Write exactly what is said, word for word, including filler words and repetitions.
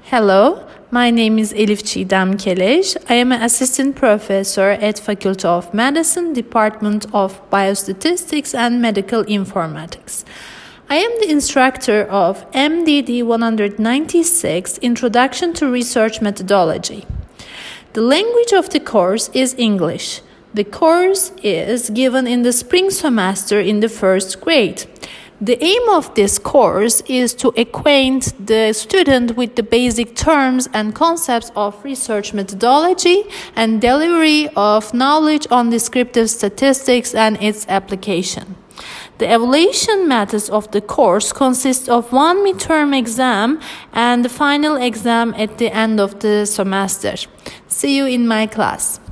Hello, my name is Elif Çiğdem Keleş. I am an assistant professor at Faculty of Medicine, Department of Biostatistics and Medical Informatics. I am the instructor of M D D one ninety-six, Introduction to Research Methodology. The language of the course is English. The course is given in the spring semester in the first grade. The aim of this course is to acquaint the student with the basic terms and concepts of research methodology and delivery of knowledge on descriptive statistics and its application. The evaluation methods of the course consist of one midterm exam and the final exam at the end of the semester. See you in my class.